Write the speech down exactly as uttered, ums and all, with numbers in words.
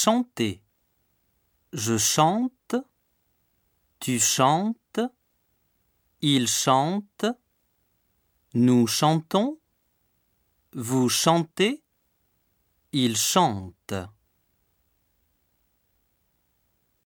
chanter. Je chante, tu chantes, il chante, nous chantons, vous chantez, il chante.